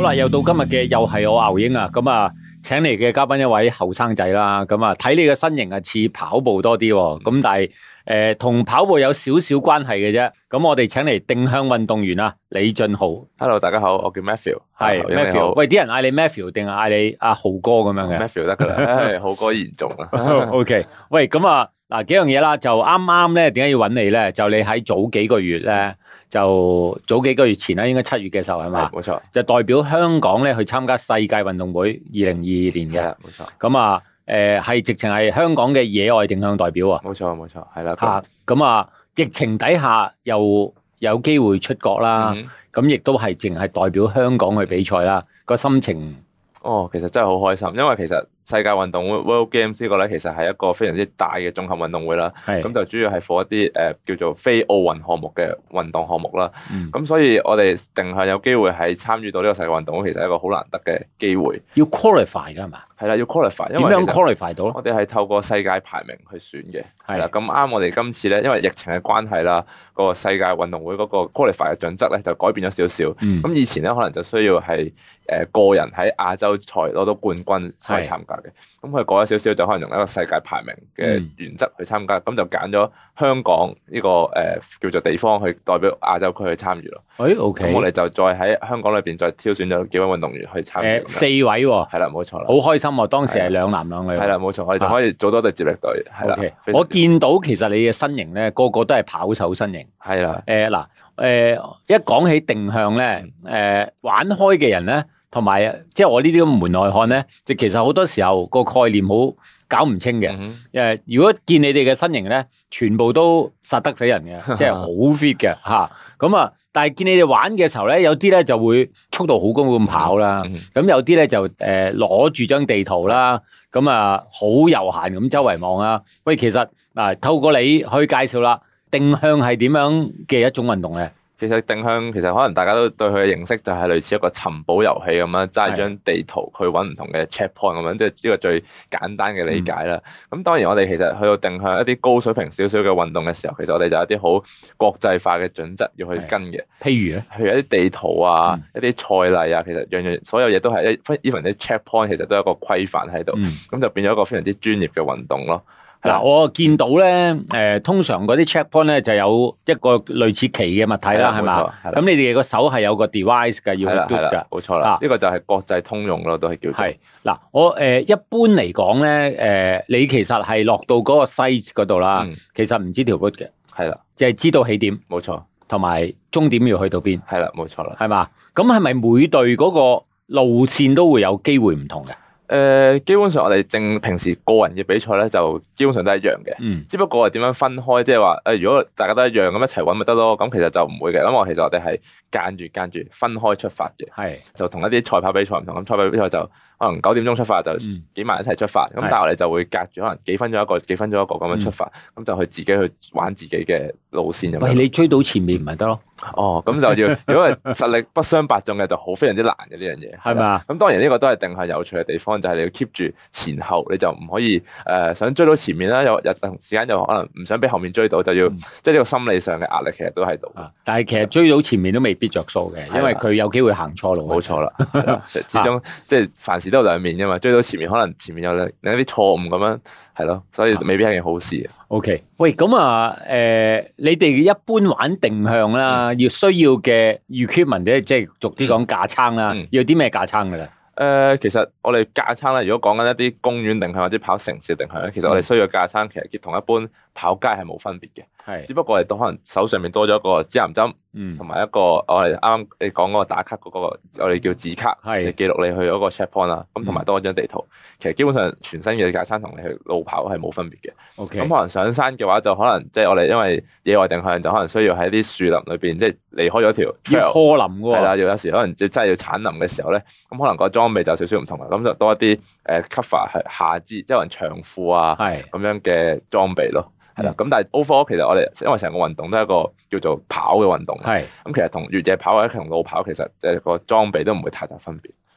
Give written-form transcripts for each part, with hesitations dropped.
好啦，又到今日嘅又係我牛英啊，咁啊，請嚟嘅嘉賓一位後生仔啦，咁啊，睇你嘅身形啊似跑步多啲，咁但係同跑步有少少關係嘅啫。咁我哋請嚟定向運動員啊，李俊豪。 Hello， 大家好，我叫 Matthew。 係 Matthew。喂，啲人嗌你 Matthew 定係嗌你阿豪哥咁樣嘅 ？Matthew 得噶啦，豪哥嚴重啊。 OK， 喂，咁啊，嗱幾樣嘢啦，就啱啱咧，點解要揾你咧？就你喺早幾個月咧。就早幾個月前啦，應該7月嘅時候係嘛？ 冇錯。就代表香港咧去參加世界運動會2022年嘅。 冇錯。 咁啊，係直情係香港嘅野外定向代表啊。 冇錯，係啦。 咁啊，疫情底下又有機會出國啦，咁亦都係淨係代表香港去比賽啦。個心情， 其實真係好開心，因為其實世界運動會 World Games 呢個咧，其實係一個非常之大嘅綜合運動會啦。咁就主要係 for 一啲叫做非奧運項目嘅運動項目啦。咁所以我哋定向有機會係參與到呢個世界運動會，其實係一個好難得嘅機會。 要 qualify 㗎係嘛？係啦，要 qualify。 點樣 qualify 到？ 我哋係透過世界排名去選嘅。係啦，咁啱我哋今次咧，因為疫情嘅關係啦，個世界運動會嗰個 qualify 嘅準則咧就改變咗少少。咁以前咧可能就需要係個人喺亞洲賽攞到冠軍先去參加嘅。咁佢改咗少少，就可能用一個世界排名嘅原則去參加。咁就揀咗香港呢個叫做地方去代表亞洲區去參與咯。 OK。 咁我哋就再喺香港裏邊再挑選咗幾位運動員去參與。 4位喎。係啦，冇錯啦。 好開心喎！當時係2男2女。 係啦，冇錯，我哋就可以組多隊接力隊。係啦。 我見到其實你嘅身形咧，個個都係跑手身形。 係啦。 一講起定向咧，玩開嘅人咧。同埋，即係我呢啲咁門外漢咧，就其實好多時候個概念好搞唔清嘅。如果見你哋嘅身形咧，全部都殺得死人嘅，即係好 fit 嘅嚇。咁啊，但係見你哋玩嘅時候咧，有啲咧就會速度好高咁跑啦。咁有啲咧就攞住張地圖啦，咁啊好悠閒咁周圍望啦。喂，其實嗱，透過你去介紹啦，定向係點樣嘅一種運動咧？ 其實定向其實可能大家都對佢嘅認識就係類似一個尋寶遊戲咁樣，揸張地圖去揾唔同嘅 checkpoint 咁樣，即係呢個最簡單嘅理解啦。咁當然我哋其實去到定向一啲高水平少少嘅運動嘅時候，其實我哋就有啲好國際化嘅準則要去跟嘅。 譬如一啲地圖啊，一啲賽例啊，其實樣樣所有嘢都係even 啲 checkpoint 其實都有一個規範喺度，咁就變咗一個非常之專業嘅運動咯。 嗱，我見到咧，通常嗰啲 checkpoint 咧就有一個類似旗嘅物體啦，係嘛？咁你哋個手係有個 device 嘅，要嘟㗎， 冇錯啦。呢個就係國際通用咯，都係叫做。係嗱，我一般嚟講咧，你其實係落到嗰個 site 嗰度啦，其實唔知條 route 嘅， 係啦， 就係知道起點， 冇錯， 同埋終點要去到邊， 係啦，冇錯啦， 係嘛？咁係咪每隊嗰個路線都會有機會唔同嘅？ 基本上我哋平時個人嘅比賽咧，就基本上都係一樣嘅。只不過係點樣分開，即係話如果大家都一樣咁一齊揾咪得咯。咁其實就唔會嘅，因為其實我哋係間住分開出發嘅。就同一啲賽跑比賽唔同。咁賽跑比賽就可能9點鐘出發，就幾萬人一齊出發。咁但係我哋就會隔住可能幾分鐘一個，幾分鐘一個咁樣出發。咁就去自己去玩自己嘅路線咁樣。 喂，你追到前面唔係得咯？ 咁就要，如果係實力不相伯仲嘅，就好非常之難嘅呢樣嘢，係咪啊？咁當然呢個都係定向有趣嘅地方，就係你要 keep 住前後，你就唔可以想追到前面啦，有同時間又可能唔想俾後面追到，就要即係呢個心理上嘅壓力其實都喺度。 但係其實追到前面都未必着數嘅，因為佢有機會行錯路。 冇錯啦，始終即係凡事都有兩面噶嘛，追到前面可能前面有另一啲錯誤咁樣，係咯，所以未必係件好事。 OK， 喂，咁啊，你哋一般玩定向啦，要需要嘅 equipment 咧，即係俗啲講架撐啦，要啲咩架撐噶啦？ 其實我哋架撐咧，如果講緊一啲公園定向或者跑城市定向咧，其實我哋需要嘅架撐其實同一般跑街係冇分別嘅，只不過我哋都可能手上面多咗一個指南針，同埋一個我哋啱啱你講嗰個打卡嗰個我哋叫字卡，就記錄你去嗰個 checkpoint 啦，咁同埋多一張地圖。其實基本上全新嘅架撐同你去路跑係冇分別嘅。咁可能上山嘅話就可能即係我哋因為野外定向就可能需要喺啲樹林裏邊，即係離開咗條 trail， 坡林喎， 係啦，有時可能真係要鏟林嘅時候咧，咁可能個裝備就少少唔同啦，咁就多一啲cover 係下肢，即係可能長褲啊咁樣嘅裝備咯。係啦，咁但係 overall 其實我哋因為成個運動都係一個叫做跑嘅運動，咁其實同越野跑或者同路跑其實個裝備都唔會太大分別。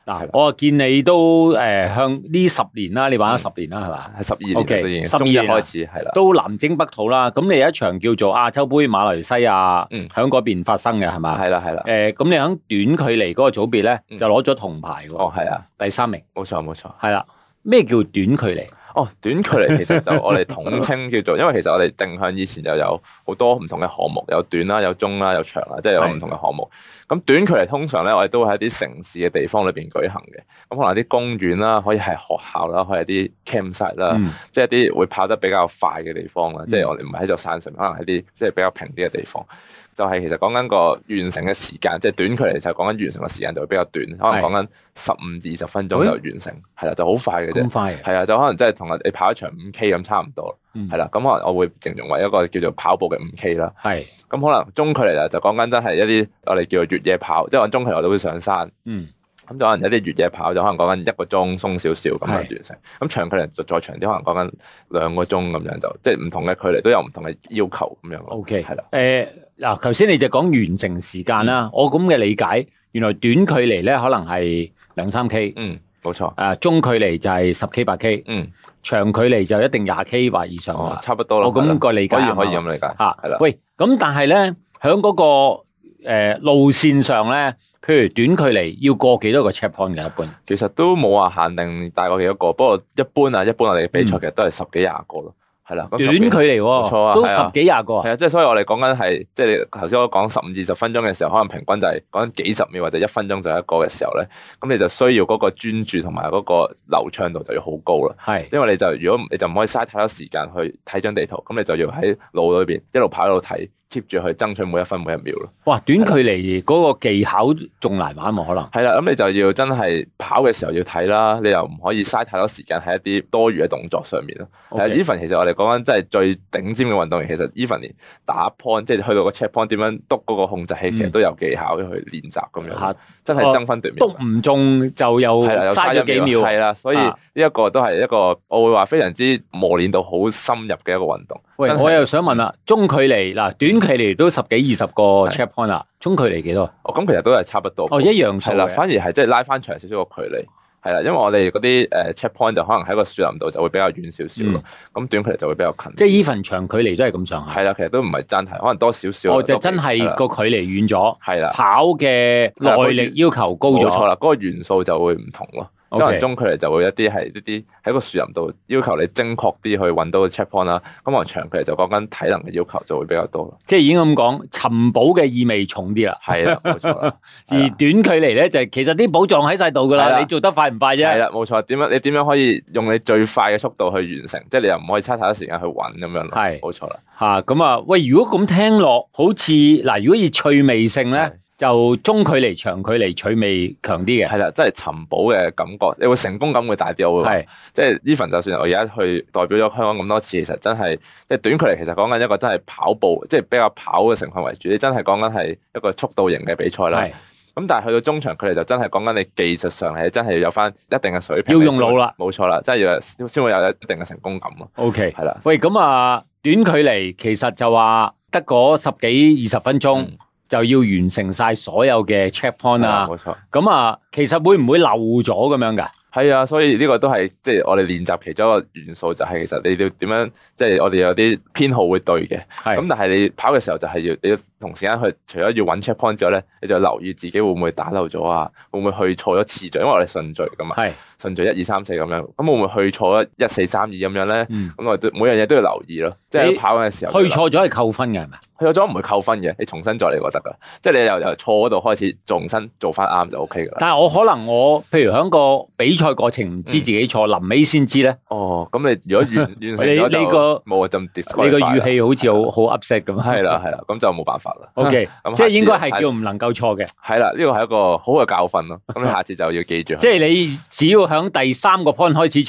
嗱，我見你都向呢10年啦，你玩咗10年啦，係嘛？ 係12年都已經 12年開始係啦， 都南征北討啦。咁你有一場叫做亞洲盃馬來西亞，喺嗰邊發生嘅係嘛？ 係啦係啦。 咁你喺短距離嗰個組別咧，就攞咗銅牌喎。 哦，係啊， 第3名。 冇錯冇錯。 係啦，咩叫短距離？ 哦，短距離其實就我哋統稱叫做，因為其實我哋定向以前就有好多唔同嘅項目，有短啦、有中啦、有長啦，即係有唔同嘅項目。咁短距離通常咧，我哋都會喺啲城市嘅地方裏邊舉行嘅。咁可能啲公園啦，可以係學校啦，可以係啲 campsite 啦，即係啲會跑得比較快嘅地方啦。即係我哋唔係喺座山上，可能喺啲即係比較平啲嘅地方。就係其實講緊個完成嘅時間，即係短距離就係講緊完成嘅時間就會比較短，可能講緊15至20分鐘就完成，係啦，就好快嘅啫。咁快？係啊，就可能即係同你跑一場5K 咁差唔多，係啦。咁可能我會形容為一個叫做跑步嘅5K 啦。係。咁可能中距離就講緊真係一啲我哋叫做越野跑，即係我中距離我都會上山。咁就可能有啲越野跑就可能講緊1個鐘鬆少少咁樣完成。咁長距離就再長啲，可能講緊2個鐘咁樣，就即係唔同嘅距離都有唔同嘅要求咁樣。OK， 係啦。嗱，頭先你就講完成時間啦。我咁嘅理解，原來短距離咧可能係2-3 K。冇錯。中距離就係10 K 8 K。長距離就一定20 K 或以上啦。差不多啦。我咁個理解可以咁理解。係啦。 喂，咁但係咧，喺嗰個路線上咧，譬如短距離要過幾多個 checkpoint 嘅一般？ 其實都冇話限定大過幾多個，不過一般我哋嘅比賽其實都係10幾20個咯。係啦， 短距離冇錯啊，都10幾20個。 係啊，即係所以我哋講緊係，即係你頭先我講15至20分鐘嘅時候，可能平均就係講緊幾十秒或者1分鐘就一個嘅時候咧，咁你就需要嗰個專注同埋嗰個流暢度就要好高啦。係，因為如果你就唔可以嘥太多時間去睇張地圖，咁你就要喺腦裏邊一路跑一路睇。keep 住去爭取每一分每一秒咯。哇，短距離嗰個技巧仲難玩喎，可能。係啦，咁你就要真係跑嘅時候要睇啦，你又唔可以嘥太多時間喺一啲多餘嘅動作上面咯。even 其實我哋講緊真係最頂尖嘅運動員，其實 even 連打 point 即係去到個 check point 點樣篤嗰個控制器，其實都有技巧去練習咁樣。真係爭分奪秒。篤唔中就又嘥咗幾秒。係啦，所以呢一個都係一個我會話非常之磨練到好深入嘅一個運動。喂，我又想問啦，中距離嗱，短距離都10幾20個 check point 啦，中距離幾多？哦，咁其實都係差不多。哦，一樣數。係啦，反而係即係拉翻長少少個距離。係啦，因為我哋嗰啲check point 就可能喺個樹林度就會比較遠少少咯。咁短距離就會比較近。即係 even 長距離都係咁上下。係啦，其實都唔係真係，可能多少少。哦，就真係個距離遠咗。係啦。跑嘅耐力要求高咗。冇錯啦，嗰個元素就會唔同咯。可能中距離就會一啲喺個樹林度要求你精確啲去揾到個 check point 啦。咁可能長距離就講緊體能嘅要求就會比較多咯。即係已經咁講，尋寶嘅意味重啲啦。係啦，冇錯啦。而短距離咧就係其實啲寶藏喺晒度噶啦，你做得快唔快啫？係啦，冇錯。你點樣可以用你最快嘅速度去完成？即係你又唔可以嘥太多時間去揾咁樣咯。係，冇錯啦。嚇咁啊！喂，如果咁聽落，好似嗱，如果以趣味性咧？就中距離、長距離趣味強啲嘅，係啦，即係尋寶嘅感覺，你會成功感會大啲。我會話，即係 even 就算我而家去代表咗香港咁多次，其實真係即係短距離，其實講緊一個真係跑步，即係比較跑嘅成分為主。你真係講緊係一個速度型嘅比賽啦。咁但係去到中長距離就真係講緊你技術上係真係要有翻一定嘅水平，要用腦啦，冇錯啦，真係要先會有一定嘅成功感咯。OK，係啦。喂，咁啊，短距離其實就話得嗰10幾20分鐘。就要完成晒所有嘅 check point 啊，冇錯。咁啊，其實會唔會漏咗咁樣㗎？係啊，所以呢個都係即係我哋練習其中一個元素，就係其實你要點樣，即係我哋有啲編號會對嘅。係。咁但係你跑嘅時候就係你要同時間去，除咗要揾 check point 之外咧，你就留意自己會唔會打漏咗啊？會唔會去錯咗次序？因為我哋順序㗎嘛。係。順序1、2、3、4咁樣，咁會唔會去錯咗1、4、3、2咁樣咧？咁我哋每樣嘢都要留意咯。即係跑嘅時候。去錯咗係扣分嘅係咪？去錯咗唔會扣分嘅，你重新再嚟過得㗎。即係你由錯嗰度開始，重新做翻啱就 OK 㗎啦。但係我可能譬如喺個比賽過程唔知自己錯，臨尾先知咧。哦，咁你如果完成咗就冇就 disqualify。你個語氣好似好 upset 咁。係啦，咁就冇辦法啦。OK，即係應該係叫唔能夠錯嘅。係啦，呢個係一個好嘅教訓咯。咁你下次就要記住。即係你只要響第3個 point 開始錯咧，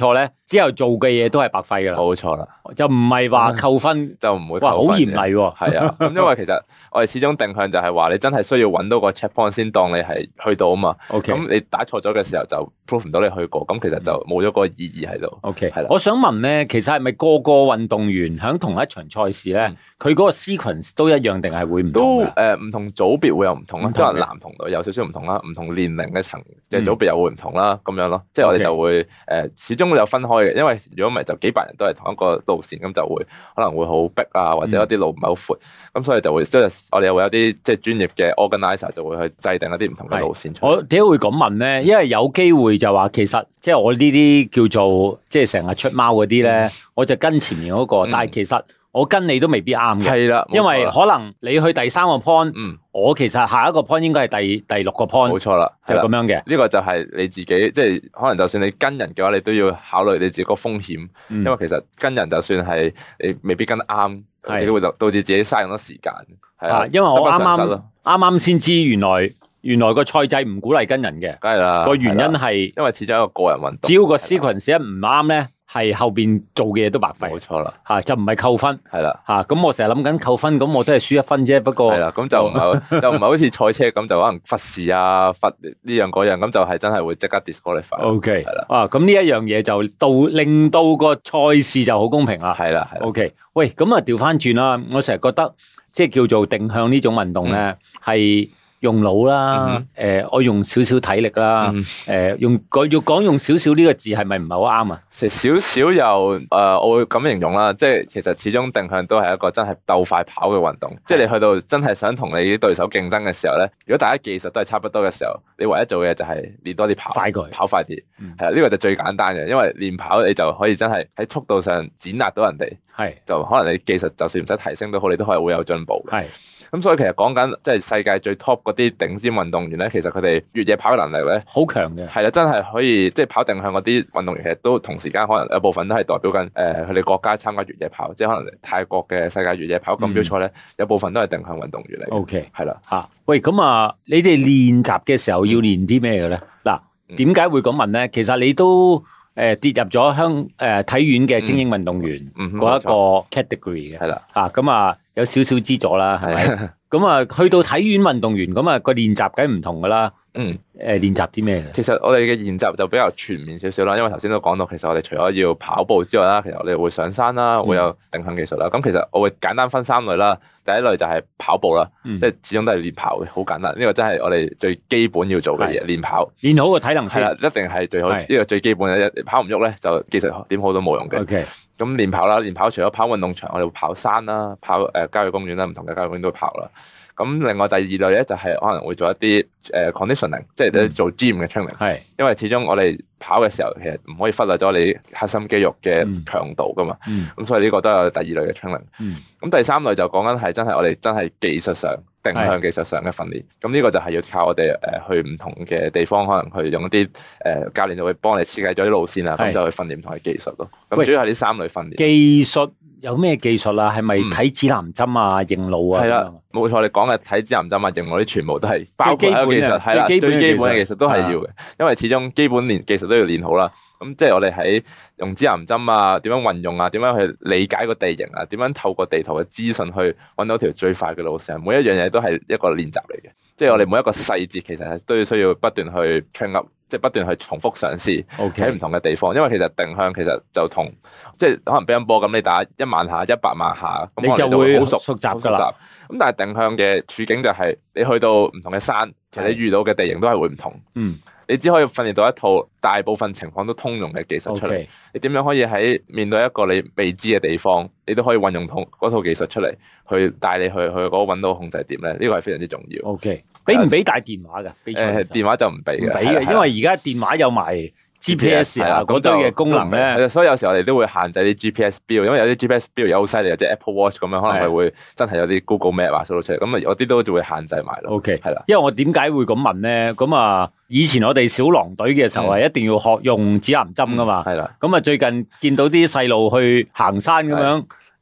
之後做嘅嘢都係白費噶啦。 冇錯啦， 就唔係話扣分就唔會扣分。 哇，好嚴厲喎。 係啊，咁因為其實我哋始終定向就係話你真係需要揾到個 checkpoint 先當你係去到啊嘛。 OK， 咁你打錯咗嘅時候就 prove 唔到你去過，咁其實就冇咗個意義喺度。 OK， 係啦。 我想問咧，其實係咪個個運動員喺同一場賽事咧，佢嗰個 sequence 都一樣定係會唔同嘅？ 都唔同組別會有唔同啦，即係男同女有少少唔同啦，唔同年齡嘅層嘅組別又會唔同啦，咁樣咯。即係我哋就會始終會有分開嘅，因為如果唔係就幾百人都係同一個路線，咁就會可能會好逼啊，或者有啲路唔係好闊，咁所以就會即係我哋又會有啲即係專業嘅 organizer 就會去制定一啲唔同嘅路線出嚟。 我點解會咁問咧？因為有機會就話其實即係我呢啲叫做即係成日出貓嗰啲咧，我就跟前面嗰個，但係其實我跟你都未必啱嘅。係啦，因為可能你去第3個 point，我其實下一個 point 應該係第6個 point。冇錯啦，就咁樣嘅。呢個就係你自己，即係可能就算你跟人嘅話，你都要考慮你自己個風險，因為其實跟人就算係你未必跟得啱，自己會導致自己嘥咁多時間。係啊，因為我啱啱先知原來個賽制唔鼓勵跟人嘅，梗係啦。個原因係因為始終一個個人運動，只要個 sequence 一唔啱咧，係後邊做嘅嘢都白費。冇錯啦，吓就唔係扣分，係啦，吓咁我成日諗緊扣分，咁我都係輸1分啫。不過係啦，咁就唔係好似賽車咁，就可能罰時啊，罰呢樣嗰樣，咁就係真係會即刻 disqualify。OK， 係啦，啊咁呢一樣嘢就令到個賽事就好公平啦。係啦，係。OK，喂，咁啊調翻轉啦，我成日覺得即係叫做定向呢種運動咧係。用腦啦，我用少少體力啦，要講用少少呢個字係咪唔係好啱啊？少少又我會咁形容啦，即係其實始終定向都係一個真係鬥快跑嘅運動，即係你去到真係想同你啲對手競爭嘅時候咧，如果大家技術都係差不多嘅時候，你唯一做嘅就係練多啲跑快啲，係啦，呢個就最簡單嘅，因為練跑你就可以真係喺速度上碾壓到人哋，就可能你技術就算唔使提升都好，你都可以會有進步嘅。咁所以其實講緊即係世界最 top 嗰啲頂尖運動員咧，其實佢哋越野跑嘅能力咧好強嘅，係啦，真係可以即係跑定向嗰啲運動員，其實都同時間可能有部分都係代表緊佢哋國家參加越野跑，即係可能泰國嘅世界越野跑錦標賽咧，有部分都係定向運動員嚟。OK， 係啦嚇。喂，咁啊，你哋練習嘅時候要練啲咩嘅咧？嗱，點解會咁問咧？其實你都跌入咗體院嘅精英運動員嗰一個 category 嘅，係啦嚇，咁啊有少少資助啦，係咪？咁啊去到體院運動員，咁啊個練習梗係唔同噶啦。練習啲咩？其實我哋嘅練習就比較全面少少啦，因為頭先都講到，其實我哋除咗要跑步之外啦，其實我哋會上山啦，會有定向技術啦。咁其實我會簡單分3類啦。第一類就係跑步啦，即係始終都係練跑嘅，好簡單。呢個真係我哋最基本要做嘅嘢，練跑，練好個體能先。係啦，一定係最好，呢個最基本嘅。跑唔喐咧，就技術點好都冇用嘅。OK，咁練跑啦，練跑除咗跑運動場，我哋會跑山啦，跑郊野公園啦，唔同嘅郊野公園都會跑啦。咁另外第二類咧就係可能會做一啲conditioning， 即係你做 gym 嘅 training。係，因為始終我哋跑嘅時候其實唔可以忽略咗你核心肌肉嘅強度噶嘛。咁所以呢個都有第二類嘅 training。咁第三類就講緊係真係我哋真係技術上定向技術上嘅訓練。咁呢個就係要靠我哋去唔同嘅地方，可能去用一啲教練就會幫你設計咗啲路線啊，咁就去訓練唔同嘅技術咯。咁主要係呢3類訓練。技術有咩技術啊？係咪睇指南針啊、認路啊？係啦，冇錯，你講嘅睇指南針啊、認路啲全部都係包括喺個技術，係啦，最基本嘅技術都係要嘅，因為始終基本技術都要練好啦。咁即係我哋喺用指南針啊，點樣運用啊，點樣去理解個地形啊，點樣透過地圖嘅資訊去揾到條最快嘅路線，每一樣嘢都係一個練習嚟嘅。即係我哋每一個細節其實係都要需要不斷去 train up，即係不斷去重複嘗試喺唔同嘅地方。因為其實定向其實就同即係可能乒乓波咁，你打1萬下、100萬下，咁你就會好熟習㗎啦。咁但係定向嘅處境就係你去到唔同嘅山，其實你遇到嘅地形都係會唔同。你只可以訓練到一套大部分情況都通用嘅技術出嚟。你點樣可以喺面對一個你未知嘅地方，你都可以運用嗰套技術出嚟，去帶你去嗰個揾到控制點咧？呢個係非常之重要。OK， 俾唔俾帶電話㗎？電話就唔俾嘅，唔俾嘅，因為而家電話有埋GPS 啊，嗰堆嘅功能咧，所以有時候我哋都會限制啲 GPS 標，因為有啲 GPS 標有好犀利，即係 Apple Watch 咁樣，可能係會真係有啲 Google Map 啊掃到出嚟，咁啊有啲都會限制埋咯。OK， 係啦，因為我點解會咁問咧？咁啊，以前我哋小狼隊嘅時候係一定要學用指南針噶嘛，係啦。咁啊最近見到啲細路去行山咁樣，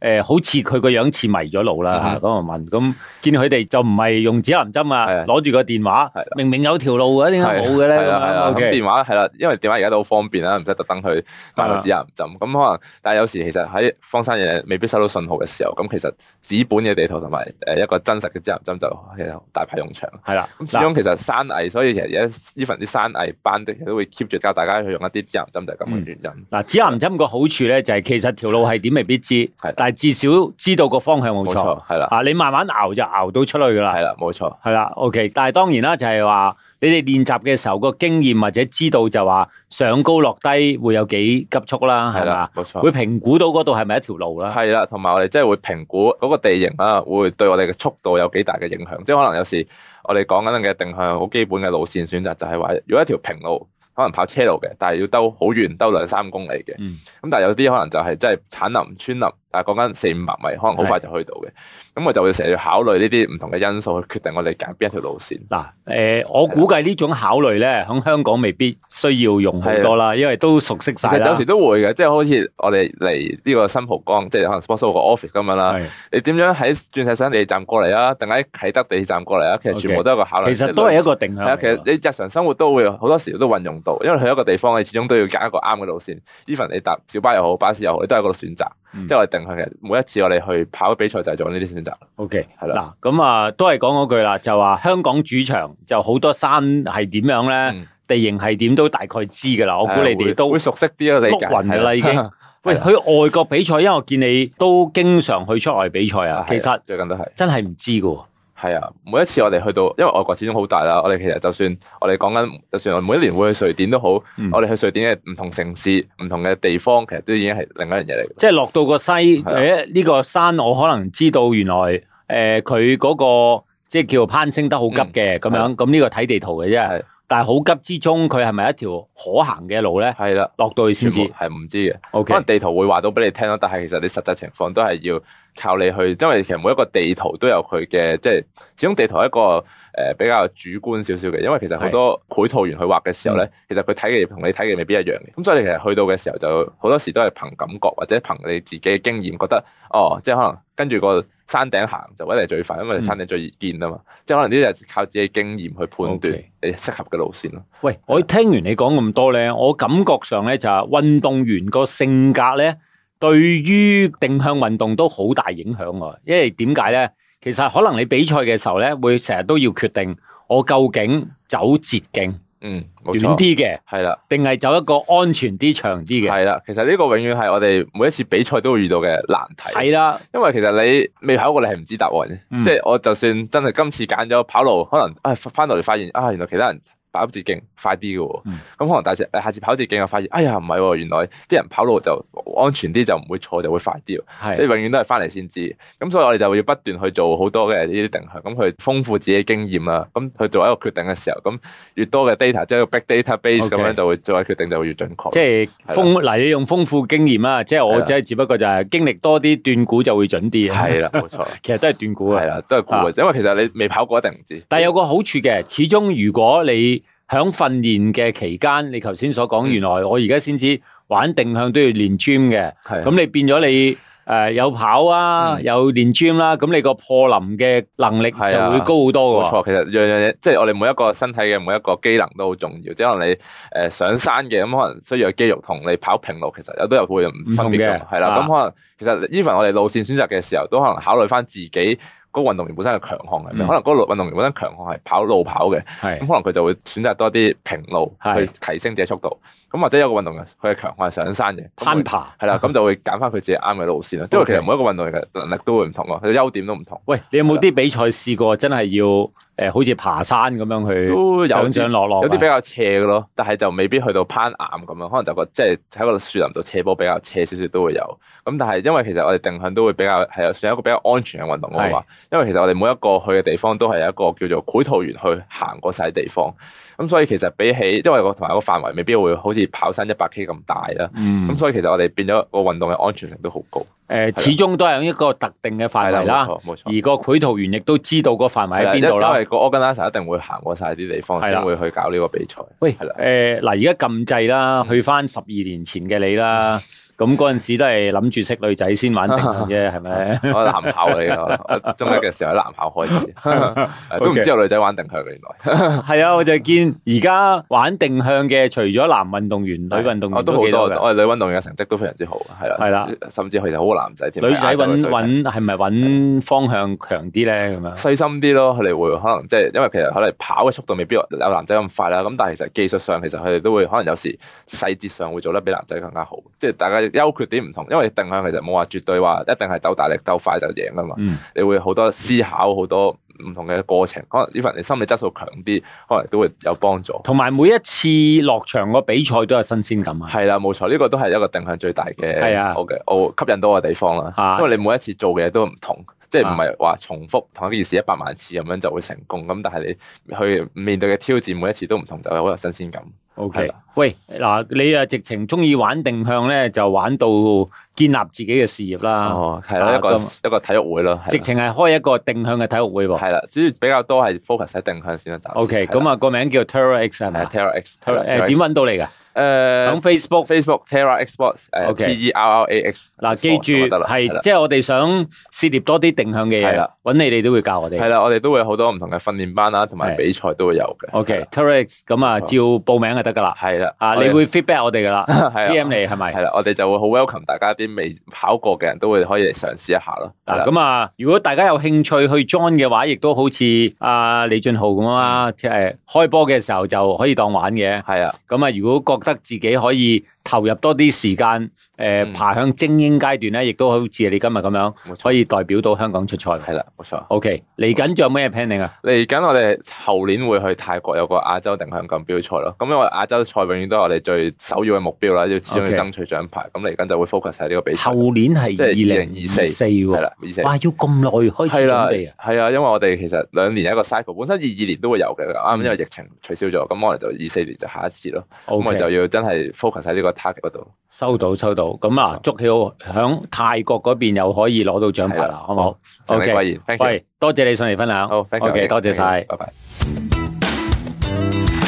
好似佢個樣似迷咗路啦，咁我問，咁見佢哋就唔係用指南針啊，攞住個電話，明明有條路嘅，點解冇嘅咧？ 咁電話係啦，因為電話而家都好方便啦，唔使特登去買個指南針。咁可能，但係有時其實喺荒山野嶺未必收到信號嘅時候，咁其實紙本嘅地圖同埋一個真實嘅指南針就其實大派用場。係啦，咁始終其實山藝，所以其實而家even啲山藝班的都會 keep 住教大家去用一啲指南針，就係咁嘅原因。嗱，指南針個好處咧就係其實條路係點未必知，但係至少知道個方向冇錯，係啦。你慢慢熬就熬到出去噶啦，係啦，冇錯，係啦。OK， 但係當然啦，就係話你哋練習嘅時候個經驗或者知道就話上高落低會有幾急速啦，係啦，冇錯，會評估到嗰度係咪一條路啦，係啦，同埋我哋即係會評估嗰個地形啦，會對我哋嘅速度有幾大嘅影響。即係可能有時我哋講緊嘅定向好基本嘅路線選擇，就係話如果一條平路，可能跑車路嘅，但係要兜好遠，兜2-3公里嘅。咁但係有啲可能就係真係鏟林穿林，但係講緊400-500米，可能好快就去到嘅。咁我就會成日要考慮呢啲唔同嘅因素去決定我哋揀邊一條路線。嗱，我估計呢種考慮咧，喺香港未必需要用好多啦，因為都熟悉晒啦。其實有時都會嘅，即係好似我哋嚟呢個新蒲崗，即係可能 Sportsoho 個 office 咁樣啦。你點樣喺鑽石山地鐵站過嚟啊？定喺啟德地鐵站過嚟啊？其實全部都係一個考慮。其實都係一個定向。其實你日常生活都會好多時都運用到，因為去一個地方你始終都要揀一個啱嘅路線。even 你搭小巴又好，巴士又好，你都係一個選擇。即係我哋定向嘅，每一次我哋去跑比賽就係做呢啲選擇。OK， 係啦。嗱，咁啊，都係講嗰句啦，就話香港主場就好多山係點樣咧，地形係點都大概知噶啦。我估你哋都會熟悉啲咯，你碌暈噶啦已經。喂，去外國比賽，因為我見你都經常去出外比賽啊。其實最近都係真係唔知噶。係啊，每一次我哋去到，因為外國始終好大啦。我哋其實就算我哋講緊，就算我每一年會去瑞典都好，我哋去瑞典嘅唔同城市、唔同嘅地方，其實都已經係另一樣嘢嚟。即係落到個西，呢個山，我可能知道原來佢嗰個即係叫攀升得好急嘅咁樣。咁呢個睇地圖嘅啫。但係好急之中，佢係咪一條可行嘅路咧？係啦，落到去先知，係唔知嘅。Okay. 可能地圖會話到俾你聽咯，但係其實你實際情況都係要靠你去，因為其實每一個地圖都有佢嘅，即係始終地圖係一個比較主觀少少嘅，因為其實好多繪圖員去畫嘅時候咧，其實佢睇嘅同你睇嘅未必一樣嘅。咁所以你其實去到嘅時候就好多時都係憑感覺或者憑你自己嘅經驗，覺得即係可能跟住個山頂行就一定係最快，因為山頂最易見啊嘛。即係可能呢啲係靠自己經驗去判斷你適合嘅路線咯。喂，我聽完你講咁多咧，我感覺上咧就係運動員個性格咧，對於定向運動都好大影響喎。因為點解咧？其實可能你比賽嘅時候咧，會成日都要決定我究竟走捷徑，短啲嘅，係啦，定係走一個安全啲、長啲嘅，係啦。其實呢個永遠係我哋每一次比賽都會遇到嘅難題。係啦，因為其實你未跑過，你係唔知答案嘅。即係我就算真係今次揀咗跑路，可能翻到嚟發現原來其他人跑捷徑快啲嘅喎，咁可能下次跑捷徑又發現，哎呀唔係喎，原來啲人跑路就安全啲，就唔會錯，就會快啲。即係永遠都係翻嚟先知。咁所以我哋就要不斷去做好多嘅呢啲定向，咁去豐富自己經驗啦。咁去做一個決定嘅時候，咁越多嘅 data，即係個 big database 咁樣就會做嘅決定就會越準確。即係你用豐富經驗啦，即係我只不過就係經歷多啲斷估就會準啲。係啦，冇錯，其實都係斷估啊。係啦，都係估嘅，因為其實你未跑過一定唔知。但係有個好處嘅，始終如果你喺訓練嘅期間，你頭先所講，原來我而家先知玩定向都要練 gym 嘅，咁你變咗你有跑啊，有練 gym 啦，咁你個破林嘅能力就會高好多嘅。冇錯，其實樣樣嘢，即係我哋每一個身體嘅每一個機能都好重要。即係可能你上山嘅，咁可能需要嘅肌肉同你跑平路其實都有會唔分別嘅，係啦。咁可能其實 even 我哋路線選擇嘅時候，都可能考慮翻自己嗰個運動員本身嘅強項係咩？可能嗰個運動員本身強項係跑路跑嘅，咁可能佢就會選擇多啲平路去提升自己速度。咁或者有個運動員佢嘅強項係上山嘅，攀爬係啦，咁就會揀翻佢自己啱嘅路線啦。因為其實每一個運動員嘅能力都會唔同咯，佢嘅優點都唔同。喂，你有冇啲比賽試過真係要好似爬山咁樣去都上上落落？有啲比較斜嘅咯，但係就未必去到攀岩咁樣，可能就即係喺個樹林度斜坡比較斜少少都會有。咁但係因為其實我哋定向都會比較係算一個比較安全嘅運動嘅話，因為其實我哋每一個去嘅地方都係一個叫做繪圖員去行過晒地方。咁所以其實比起，因為同埋個範圍未必會好似跑山100K 咁大啦。咁所以其實我哋變咗個運動嘅安全性都好高。始終都係一個特定嘅範圍啦。冇錯。而個繪圖員亦都知道個範圍喺邊度啦。因為個 organizer 一定會行過晒啲地方先會去搞呢個比賽。喂，嗱而家撳掣啦，去翻12年前嘅你啦。 咁嗰陣時都係諗住識女仔先玩定向啫，係咪？ 我男校嚟㗎，我中一嘅時候喺男校開始，都唔知有女仔玩定向嘅原來。 係啊，我就見而家玩定向嘅，除咗男運動員、女運動員都好多。我哋女運動員嘅成績都非常之好，係啦，甚至佢哋好過男仔添。 女仔揾係咪揾方向強啲咧？咁樣細心啲咯，佢哋會可能即係因為其實可能跑嘅速度未必有男仔咁快啦。咁但係其實技術上其實佢哋都會可能有時細節上會做得比男仔更加好。即係大家優缺點唔同，因為定向其實冇話絕對話一定係鬥大力鬥快就贏㗎嘛。你會好多思考好多唔同嘅過程，可能呢份你心理質素強啲，可能都會有幫助。同埋每一次落場個比賽都有新鮮感啊！ 係啦，冇錯，呢個都係一個定向最大嘅我吸引到嘅地方啦。因為你每一次做嘅嘢都唔同，即係唔係話重複同一件事100萬次咁樣就會成功。咁但係你去面對嘅挑戰每一次都唔同，就係好有新鮮感。 OK，喂，嗱，你啊直情中意玩定向咧，就玩到建立自己嘅事業啦。 哦，係啦，一個體育會咯， 直情係開一個定向嘅體育會喎。 係啦，主要比較多係 focus 喺定向先啦。 OK，咁啊個名叫 Terra X 係咪 ？Terra X， 點揾到你㗎？喺 Facebook Terra X Sports，Terrax。嗱， 記住係即係我哋想涉獵多啲定向嘅嘢，揾你哋都會教我哋。 係啦，我哋都會有好多唔同嘅訓練班啦，同埋比賽都會有嘅。 OK，Terra X 咁啊，照報名就得噶啦。 係啦， 你會 feedback 我哋噶啦，DM 你係咪？ 係啦，我哋就會好 welcome 大家啲未跑過嘅人都會可以嚟嘗試一下咯。 咁啊，如果大家有興趣去 join 嘅話，亦都好似阿李俊浩咁啊，即係開波嘅時候就可以當玩嘅。 係啊， 咁啊，如果覺得自己可以投入多啲時間，爬向精英階段咧，亦都好似你今日咁樣，可以代表到香港出賽。 係啦，冇錯。 OK，嚟緊仲有咩 planning 啊？ 嚟緊我哋後年會去泰國有個亞洲定向錦標賽咯。咁因為亞洲賽永遠都係我哋最首要嘅目標啦，要始終要爭取獎牌。咁嚟緊就會 focus 喺呢個比賽。後年係2024喎。係啦，24。哇，要咁耐開始準備啊？ 係啊，因為我哋其實2年一個 cycle，本身22年都會有嘅，啱因為疫情取消咗，咁我哋就24年就下一次咯。咁我哋就要真係 focus 喺呢個 target 嗰度。 收到。咁啊，祝曉響泰國嗰邊又可以攞到獎牌啦，好唔好？OK，喂，多謝你上嚟分享。 好，OK， 多謝晒， 拜拜。